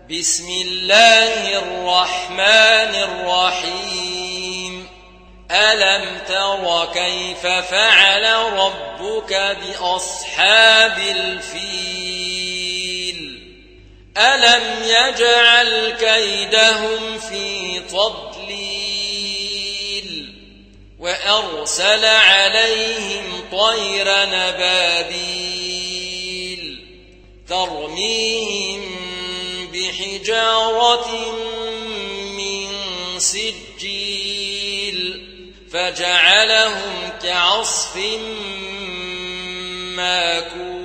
بسم الله الرحمن الرحيم ألم تر كيف فعل ربك بأصحاب الفيل ألم يجعل كيدهم في تضليل وأرسل عليهم طيرا نبابيل ترميهم بحجارة من سجيل فجعلهم كعصف ماكول.